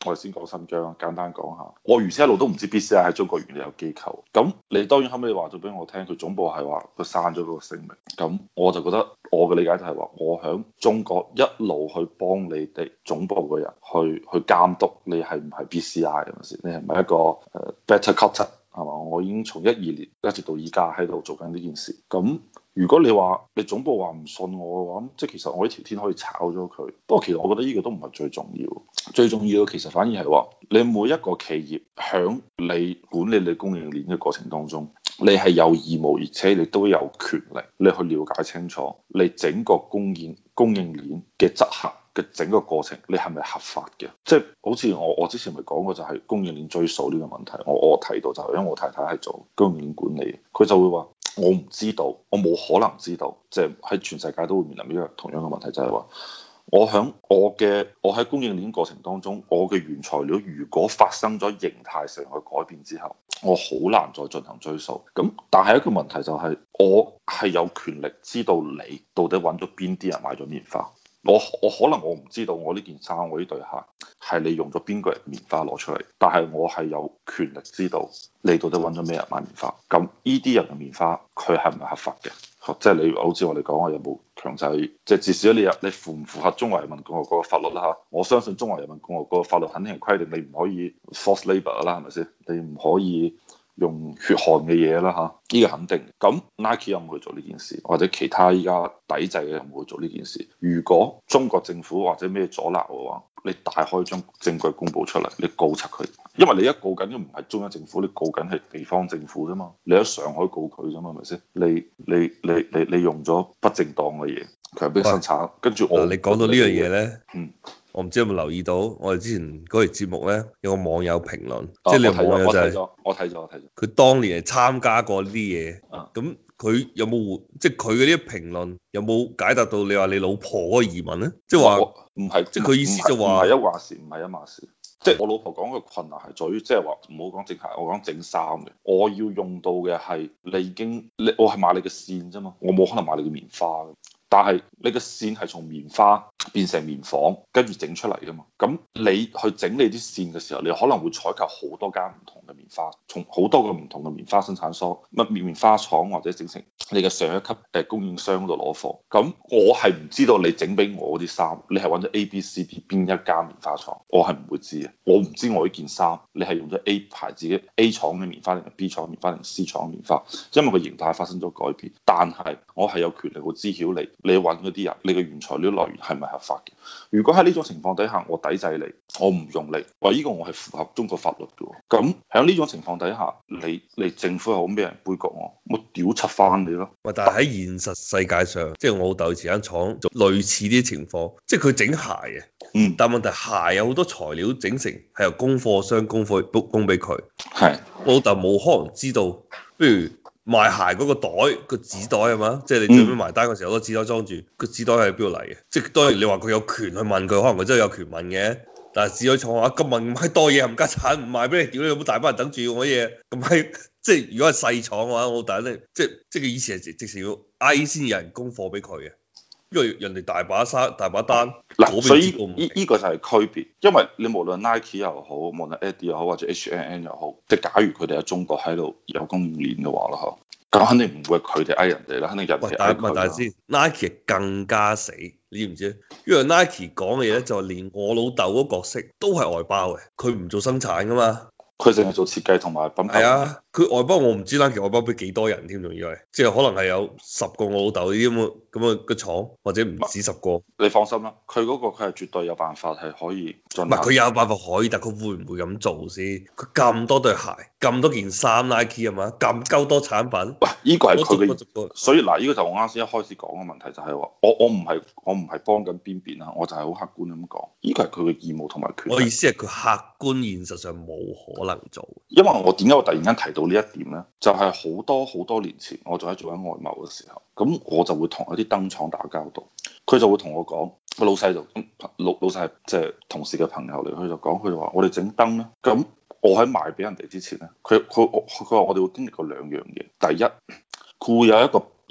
我哋先講新疆，簡單講下。我原先一路都唔知 BCI 喺中國原來有機構。咁你當然後尾話咗俾我聽，佢總部係話佢刪咗嗰個聲明。咁我就覺得我嘅理解就係話，我喺中國一路去幫你哋總部嘅人去監督你係唔係 BCI 係咪先？你係唔係一個better contact 係嘛？我已經從12年一直到依家喺度做緊呢件事。咁如果你話你總部話唔信我嘅話，即係其實我呢條天可以炒咗佢。不過其實我覺得呢個都唔係最重要，最重要嘅其實反而係話你每一個企業響你管理你供應鏈嘅過程當中，你係有義務，而且你都有權力，你去了解清楚你整個供應鏈嘅執行嘅整個過程，你係咪合法嘅？即係好似我之前咪講過，就係供應鏈追溯呢個問題。我提到就係因為我太太係做供應鏈管理，佢就會話我唔知道，我冇可能知道，即係喺全世界都會面臨呢個同樣嘅問題，就係話我喺供應鏈過程當中，我嘅原材料如果發生咗形態上嘅改變之後，我好難再進行追溯。咁但係一個問題就係，我係有權力知道你到底揾咗邊啲人買咗棉花。我可能我唔知道我呢件衫，我呢對鞋係你用咗邊個人棉花攞出嚟，但係我係有權力知道你到底揾咗咩人買棉花。咁呢啲人嘅棉花佢係唔係合法嘅？即係你好似我哋講，我有冇強制？即係至少你符唔符合中華人民共和國嘅法律啦嚇？我相信中華人民共和國嘅法律肯定係規定你唔可以 forced labour 啦，係咪先？你唔可以用血汗嘅嘢啦嚇，呢個肯定。咁 Nike 有冇去做呢件事，或者其他依家抵制嘅有冇去做呢件事？如果中國政府或者咩阻撓嘅話，你大可以將證據公佈出嚟，你告柒佢。因為你一告緊都唔係中央政府，你告緊係地方政府啫嘛。你喺上海告佢啫嘛，係咪先？你用咗不正當嘅嘢強迫生產，跟住我你講到呢樣嘢咧， 嗯。 我唔知有冇留意到，我哋之前嗰期節目咧有個網友評論， 哦、 即係你個網友就係我睇咗， 佢當年係參加過呢啲嘢， 啊， 咁佢有冇即係佢嗰啲評論有冇解答到你話你老婆嗰個疑問咧？即係話唔係， 即係佢意思就話唔係一話事，唔係一碼事。即係我老婆講嘅困難係在於，即係話唔好講整鞋，我講整衫嘅。我要用到嘅係我係買你嘅線啫嘛，我冇可能買你嘅棉花嘅。但係你嘅線係從棉花變成棉紡，跟住整出嚟噶嘛。咁你去整你啲線嘅時候，你可能會採購好多間唔同嘅棉花，從好多個唔同嘅棉花生產商、棉花廠或者整成你嘅上一級供應商嗰度攞貨。咁我係唔知道你整俾我啲衫，你係揾咗 A、B、C、D 邊一間棉花廠，我係唔會知嘅。我唔知我呢件衫你係用咗 A 牌子嘅 A 廠嘅棉花定係 B 廠棉花定係 C 廠棉花，因為個形態發生咗改變。但係我係有權力去知曉你揾嗰啲人，你嘅原材料來源係咪合法嘅？如果喺呢種情況底下，我抵制你，我唔用你，話呢個我係符合中國法律嘅。咁喺呢種情況底下，你政府又好咩人杯葛我屌柒翻你咯。 喂，但係喺現實世界上，即係我老豆以前間廠做類似啲情況，即係佢整鞋嘅，但係問題鞋有好多材料整成係由供貨商供俾佢， 係我老豆冇可能知道，不如。賣鞋嗰個袋個紙袋係嘛？即係你最尾埋單嘅時候，個紙袋裝住個紙袋係邊度嚟嘅？即係當然你話佢有權去問佢，可能佢真係有權問嘅。但係紙袋廠話咁問咁閪多嘢冚家產唔賣俾你，屌你有冇大班人等住我啲嘢？咁閪即係如果係細廠嘅話，我老豆咧即係佢以前係直情要嗌先有人供貨俾佢嘅，因為人哋大把單嗱，所以呢個就係區別，因為你無論 Nike 又好，無論 Adidas 又好，或者 H&M 又好，即係假如佢哋喺中國喺度有供應鏈嘅話啦，咁肯定唔會佢哋嗌人哋啦，肯定人哋嗌佢。 但係先 Nike 更加死，你知唔知？因為 Nike 講嘅嘢咧，就係連我老豆嗰個角色都係外包嘅，佢唔做生產噶嘛。 佢淨係做設計同埋品牌。 係啊，佢外包我唔知 Nike 外包俾幾多人添，仲以為即係可能係有10個我老豆呢啲咁嘅廠，或者唔止10個。 你放心啦，佢嗰個佢係絕對有辦法係可以進。 唔係佢有辦法可以，但佢會唔會咁做先？佢咁多對鞋，咁多件衫 Nike 係嘛？咁鳩多產品。 喂，呢個係佢嘅。所以嗱，呢個就我啱先一開始講嘅問題就係話，我唔係幫緊邊邊啊，我就係好客觀咁講，呢個係佢嘅義務同埋權利。 我意思係佢客觀現實上冇可能做。 因為我點解我突然間提到呢一點呢？就係好多年前，我仲喺做緊外貿嘅時候，咁我就會同一啲燈廠打交道，佢就會同我講，個老細就老細係即係同事嘅朋友嚟，佢就講，佢就話我哋整燈咧，咁我喺賣俾人哋之前咧，佢話我哋會經歷過兩樣嘢，第一，佢會有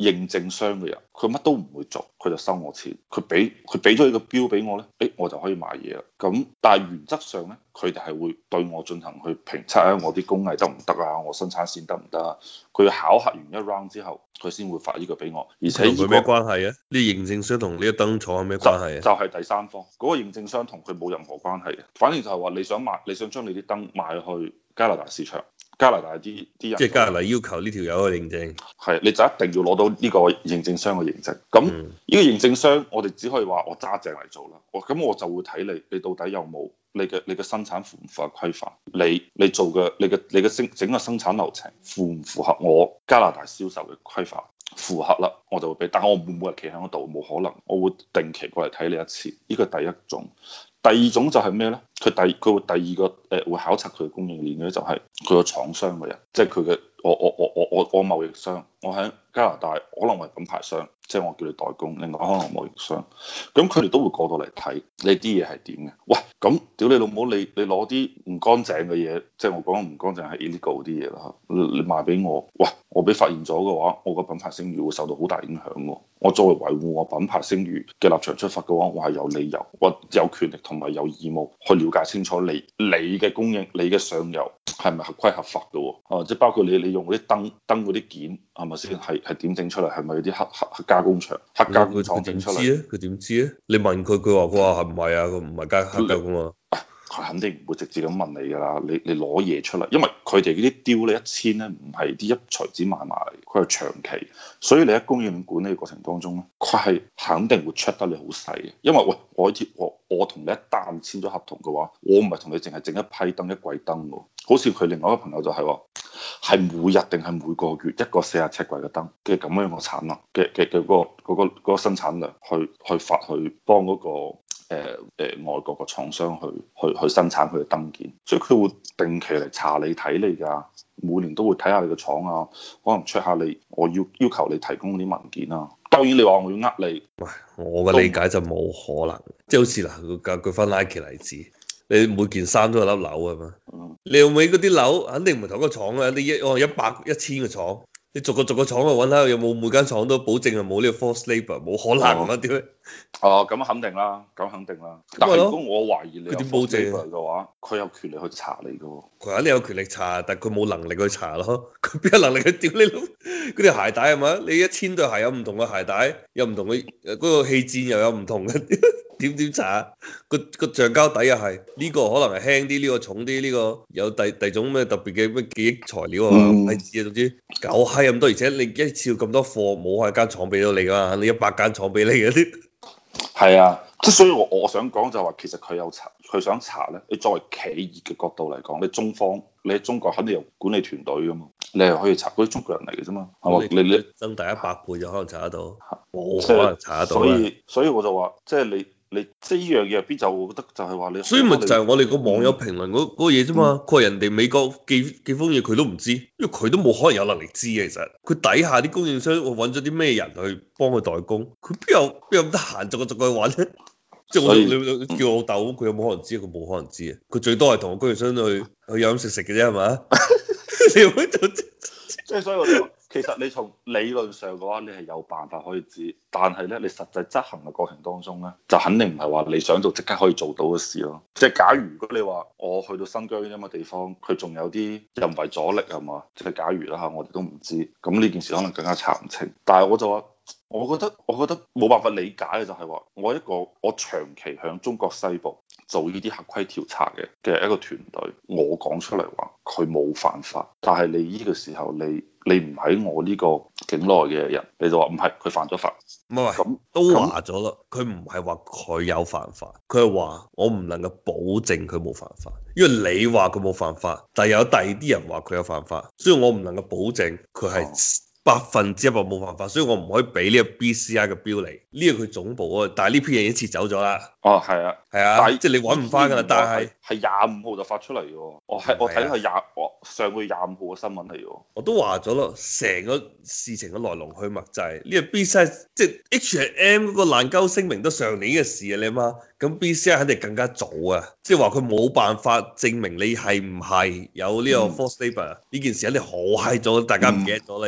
認證商嘅人，佢乜都唔會做，佢就收我錢，佢俾咗呢個標俾我咧，我就可以買嘢啦。咁但係原則上咧，佢哋係會對我進行去評測啊，我啲工藝得唔得啊，我生產線得唔得啊？佢要考核完一 round 之後，佢先會發呢個俾我。而且同佢咩關係啊？呢認證商同呢個燈廠有咩關係啊？ 就係第三方嗰個認證商同佢冇任何關係嘅，反正就係話你想賣，你想將你啲燈賣去加拿大市場，加拿大啲人即係加拿大要求呢條友去認證， 係你就一定要攞到呢個認證商嘅認證。咁呢個認證商，我哋只可以話我揸正嚟做啦。咁我就會睇你到底有冇你嘅生產符唔符合規範？你做嘅你嘅整個生產流程符唔符合我加拿大銷售嘅規範？符合啦，我就會俾。但係我唔會每日企喺嗰度，冇可能。我會定期過嚟睇你一次。呢個第一種。第二種就係咩咧？佢會第二個會考察佢嘅供應鏈嘅，就係佢個廠商嘅人，即係佢嘅我貿易商，我喺加拿大可能係品牌商，即係我叫你代工，另外可能係貿易商，咁佢哋都會過到嚟睇你啲嘢係點嘅。喂，咁屌你老母，你攞啲唔乾淨嘅嘢，即係我講唔乾淨係 illegal 啲嘢啦，你賣俾我，喂，我俾發現咗嘅話，我個品牌聲譽會受到好大影響喎。我作為維護我品牌聲譽嘅立場出發嘅話，我係有理由，我有權力同埋有義務去了解清楚你嘅供應，你嘅上游係咪合規合法嘅喎？即係包括你用嗰啲燈嗰啲件係咪先係點整出嚟？係咪有啲黑加工廠、黑加工廠整出嚟？ 佢點知啊？你問佢，佢話係唔係啊？佢唔係黑加工啊。 佢肯定唔會直接咁問你㗎啦，你攞嘢出嚟，因為佢哋嗰啲雕咧1000咧唔係啲一錘子買賣嚟，佢係長期，所以你喺供應鏈管理過程當中咧，佢係肯定會 check 得你好細嘅，因為喂我同你一旦簽咗合同嘅話，我唔係同你淨係整一批燈一櫃燈喎，好似佢另外一個朋友就係話係每日定係每個月一個47櫃嘅燈嘅咁樣嘅產能嘅嗰個生產量去發去幫嗰個。外國個廠商去生產佢嘅燈件，所以佢會定期嚟查你睇你㗎，每年都會睇下你個廠啊，可能 check 下你，我要求你提供啲文件啊。當然你話我要呃你， 喂，我嘅理解就冇可能，即係好似嗱，舉翻 Nike 例子，你每件衫都有粒紐啊嘛，你用尾嗰啲紐肯定唔係同一個廠啊，你100、1000個廠。你逐個廠去揾下，有冇每間廠都保證係冇呢個 forced labour，冇可能啊？點解？ 哦，咁肯定啦，咁肯定啦。但係如果我懷疑你有 forced labour 嘅話，佢有權力去查你嘅喎。 佢肯定有權力查，但係佢冇能力去查咯。佢邊有能力去屌你老？嗰條鞋帶係嘛？你1000對鞋有唔同嘅鞋帶，有唔同嘅嗰個氣墊又有唔同嘅。點查？個橡膠底又係呢個可能係輕啲，呢個重啲，呢個有第種咩特別嘅咩記憶材料啊？唔知啊，總之狗閪咁多，而且你一次咁多貨冇係間廠俾到你噶嘛？你100間廠俾你嗰啲。 係啊，即係所以我想講就係話，其實佢想查咧。你作為企業嘅角度嚟講，你喺中國肯定有管理團隊噶嘛，你係可以查嗰啲中國人嚟嘅啫嘛，係嘛？你增大100倍就可能查得到，冇可能查得到。 所以我就話，即係你即係呢樣嘢入邊就我覺得就係話你， 所以咪就係我哋個網友評論嗰個嘢啫嘛。佢話人哋美國寄封嘢佢都唔知，因為佢都冇可能有能力知嘅。其實佢底下啲供應商我揾咗啲咩人去幫佢代工，佢邊有咁得閒逐個去揾咧？即係你叫我老豆，佢有冇可能知？佢冇可能知啊！佢最多係同個供應商去飲食嘅啫，係嘛？你會做即係所以我就話，其實你從理論上嘅話，你係有辦法可以知，但係咧，你實際執行嘅過程當中咧，就肯定唔係話你想做即刻可以做到嘅事咯。即係假如果你話我去到新疆呢啲咁嘅地方，佢仲有啲人為阻力係嘛？即係假如啦嚇，我哋都唔知，咁呢件事可能更加查唔清。但係我就話。我覺得冇辦法理解嘅就係話，我長期響中國西部做呢啲合規調查嘅一個團隊，我講出嚟話佢冇犯法，但係你呢個時候你唔喺我呢個境內嘅人，你就話唔係佢犯咗法， 唔係咁都話咗咯，佢唔係話佢有犯法，佢係話我唔能夠保證佢冇犯法，因為你話佢冇犯法，但係有第二啲人話佢有犯法，所以我唔能夠保證佢係。100%冇犯法，所以我唔可以俾呢個 BCI 嘅標嚟，呢個佢總部啊，但係呢篇嘢已經撤走咗啦。 哦，係啊， 係啊，即係你揾唔翻㗎啦。但係25號就發出嚟嘅喎，我睇係上個月25號嘅新聞嚟嘅喎。 我都話咗咯，成個事情嘅來龍去脈就係呢個 BCI，即係 H&M 嗰個爛鳩聲明都上年嘅事啊，你媽，咁 BCI 肯定更加早啊，即係話佢冇辦法證明你係唔係有呢個 forced labour 呢件事肯定好閪早，大家唔記得咗啦已經。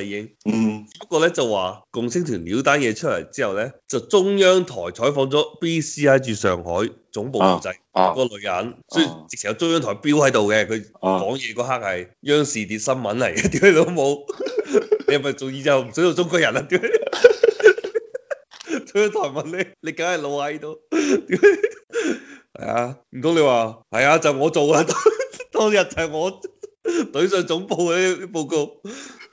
嗯不過咧就話共青團料單嘢出嚟之後咧，就中央台採訪咗 BCI 駐上海總部負責嗰個女人，所以直情有中央台標喺度嘅，佢講嘢嗰刻係央視碟新聞嚟嘅，屌你老母！你係咪做意就唔想做中國人啊？屌！中央台問你，你梗係老喺度。係啊，唔通你話係啊？就我做啊！當日就係我懟上總部嘅啲報告。